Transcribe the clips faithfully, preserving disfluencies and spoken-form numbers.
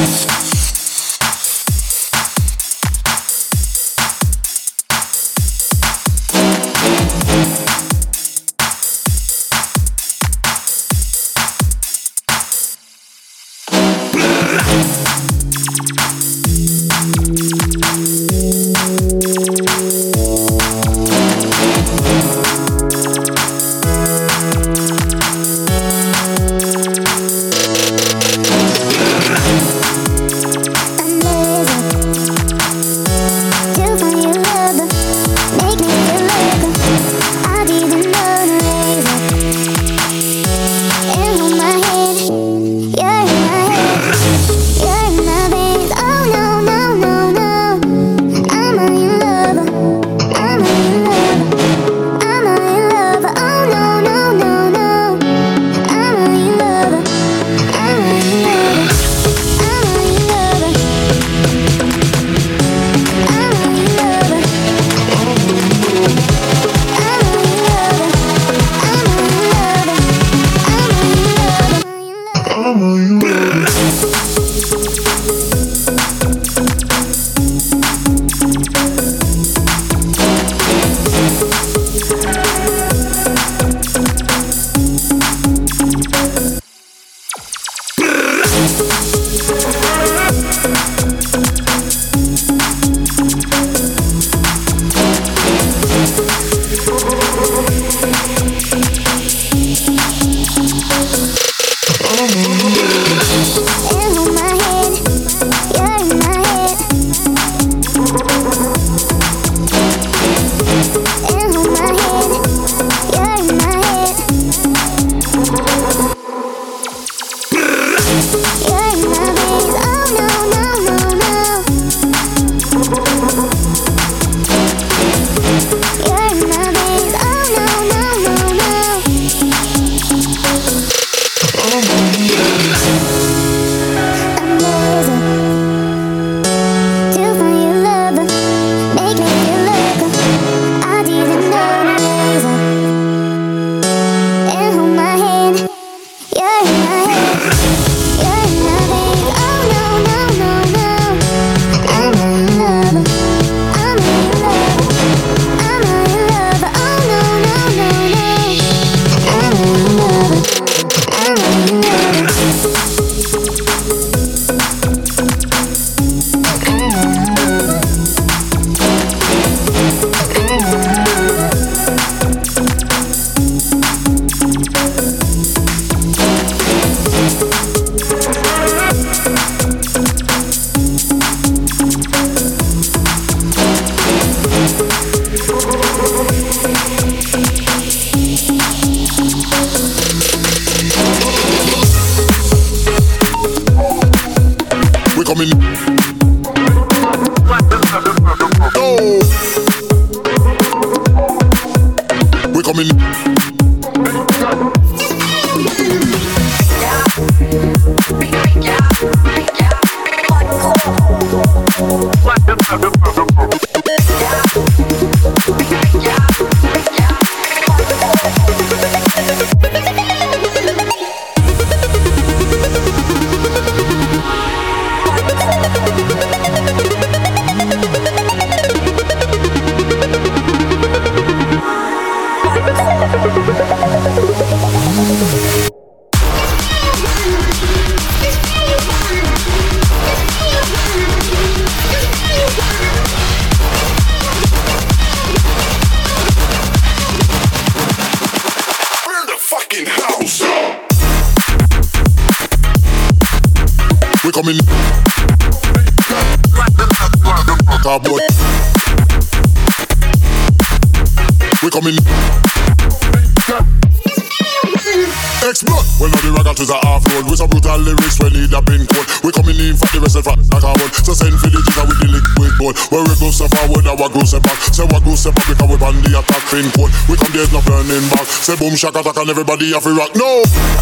Say boom shaka taka and everybody have to rock. No,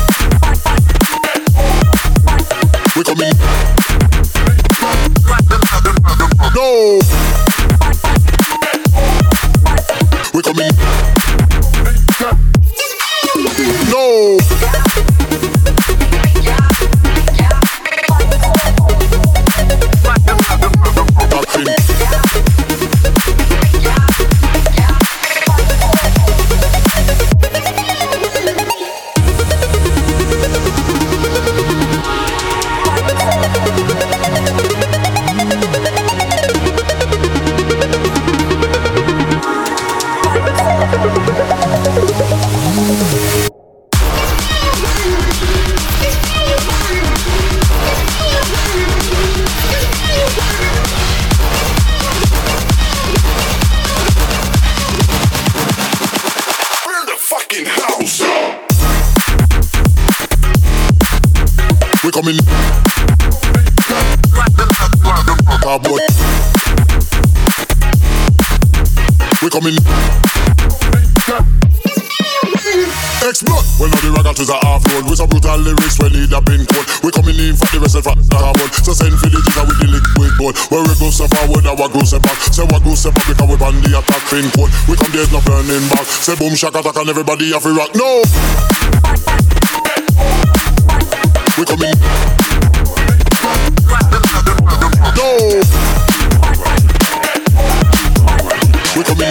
we coming. No, we coming. No. coming. Cardboard. We coming. Explode. Well now the ragga to the half road with some brutal lyrics when need a pin code. We coming in for the rest of the cardboard. So send for the jigger with the liquid gold. Where we go so forward, our go so back. Say what go so back because we on the attack pin code. We come there's no burning back. Say boom shaka attack and everybody have to rock. No. We coming. No. We coming.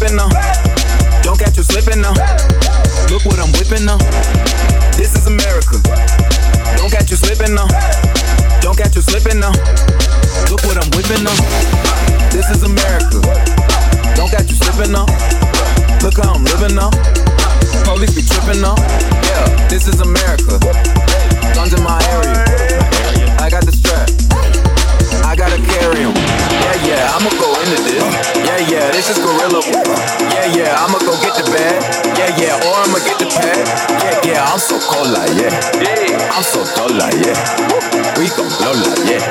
slipping now. Don't catch you slipping now. Look what I'm whipping now. This is America. Don't catch you slipping now. Don't catch you slipping now. Look what I'm whipping now. This is America. Don't catch you slipping now. Look how I'm living now. Police be tripping now. Yeah, this is America. Guns in my area. I got the strap. I gotta carry 'em. Yeah, yeah, I'ma go into this. Yeah, yeah, this is gorilla. Yeah, yeah, I'ma go get the bag. Yeah, yeah, or I'ma get the pad. Yeah, yeah, I'm so cold like yeah. I'm so dull like yeah. We gon' blow like yeah.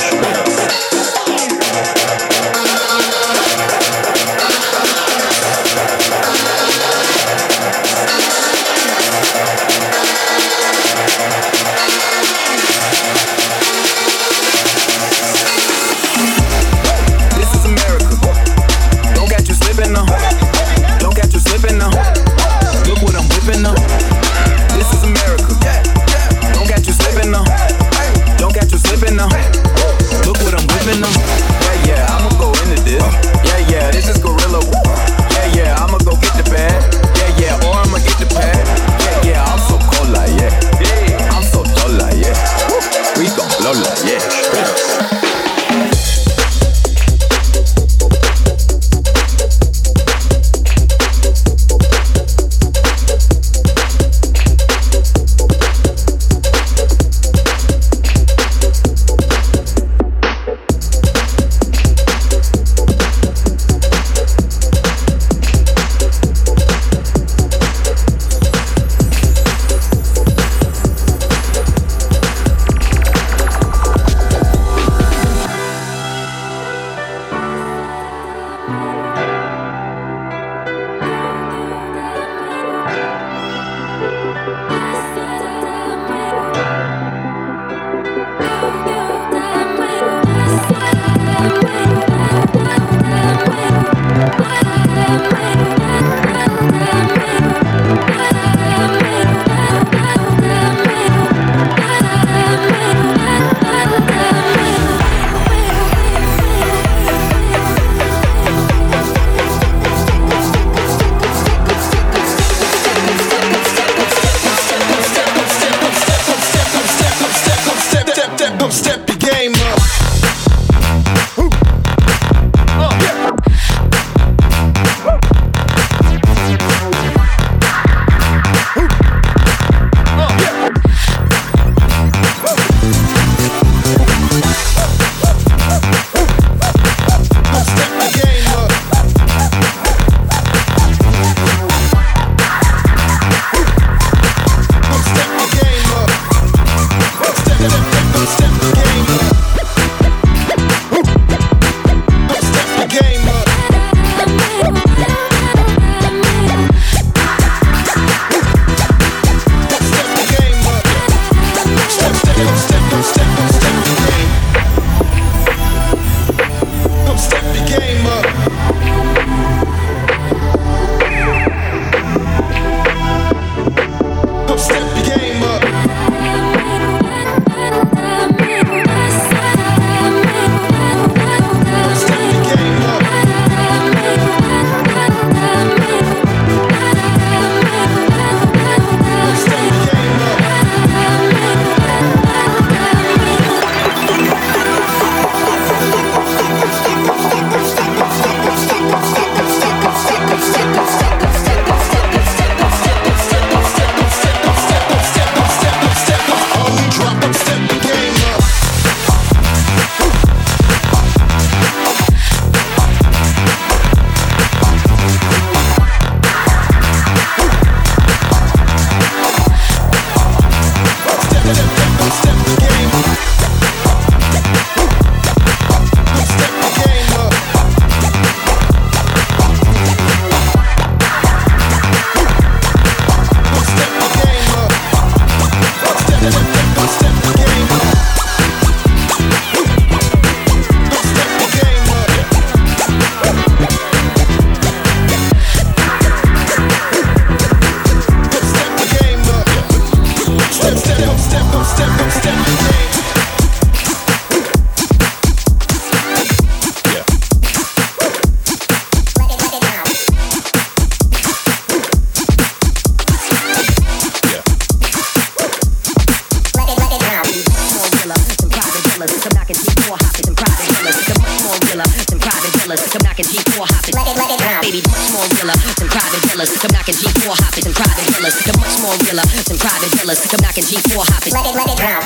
four hoppers and private villas. They're much more realer than private villas. Come knocking G four hoppers. Let it, let it drop. Baby, much more realer than private villas. Come knocking G four hoppers and private villas. They're much more realer than private villas. Come knocking G four hoppers. Let it, let it drop.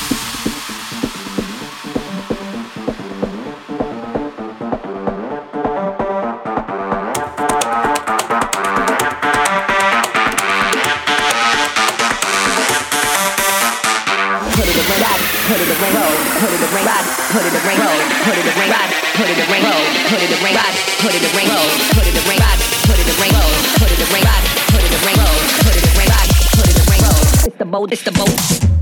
Put it the ring ride, put it the ring roll, put it the ring ride, put it the ring roll, put it the ring ride, put it the ring roll, put it the ring ride, put it the ring roll, put it the ring ride, put it the ring roll, put it the ring ride, put it the ring roll. It's the boat, it's the boat.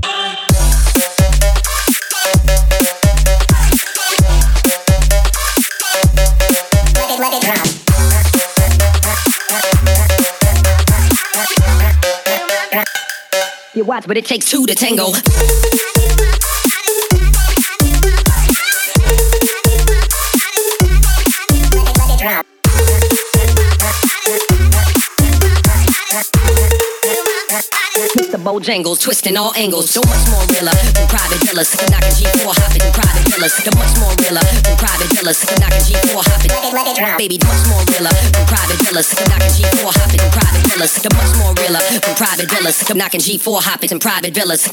Let it drop. You watch, but it takes two to tango. Mister Bojangles, twisting all angles. So much more realer than private villas. Knocking G four hopping in private villas. So much more realer than private villas. Knocking G four hopping. Let it drop. Baby, much more realer than private villas. Knocking G four hopping in private villas. So much more realer than private villas. Knocking G four hopping in private villas.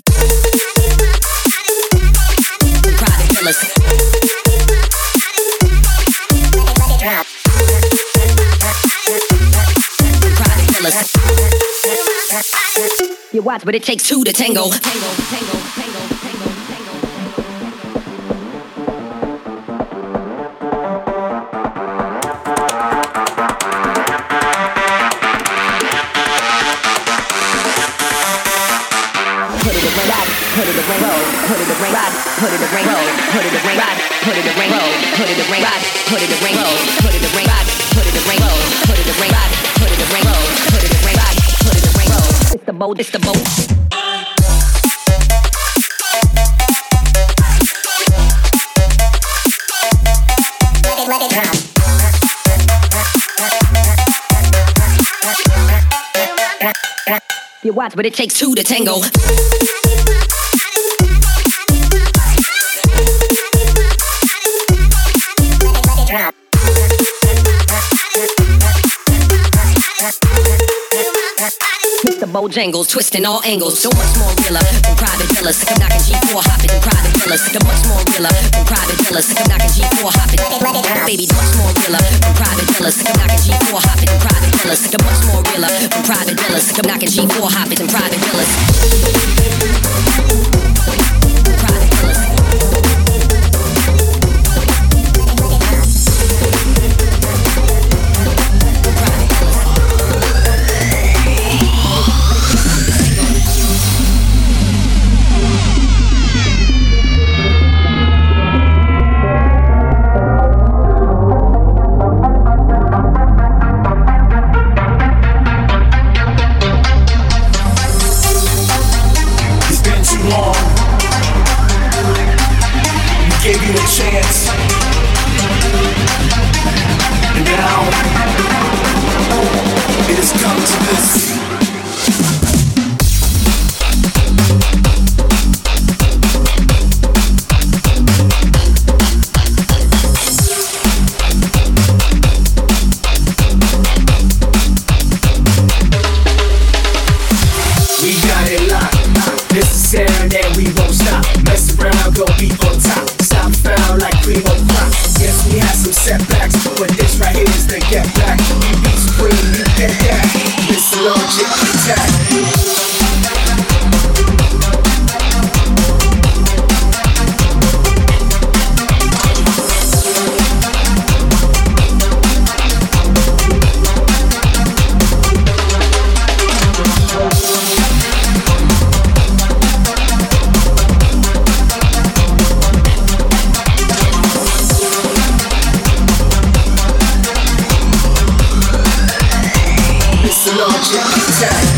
In private villas. Let it drop. In private villas. You watch, but it takes two to tango. Tango, tango, tango, tango, tango, tango. Put it the ring ride, put it the ring roll, put it the ring ride, put it the ring roll, put it the ring ride, put it the ring roll, put it the ring ride, put it the ring roll, put it the ring ride, put it the ring roll, put it the ring ride, put it the ring roll, put it the ring ride, put it the ring roll. It's the boat, it's the boat. Let it drop. You watch, but it takes two to tango. Let it drop. Mister Bojangles, twisting all angles. So much more realer than private villas. I'm knocking G four hopping in private villas. So much more realer than private villas. I'm knocking G four hopping. Baby, much more realer than private villas. I'm knocking G four hopping in private villas. So much more realer than private villas. I'm knocking G four hopping in private villas. Private villas. Logic attack.